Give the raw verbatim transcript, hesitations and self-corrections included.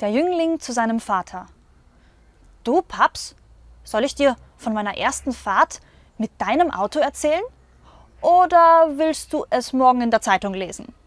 Der Jüngling zu seinem Vater: Du, Paps, soll ich dir von meiner ersten Fahrt mit deinem Auto erzählen? Oder willst du es morgen in der Zeitung lesen?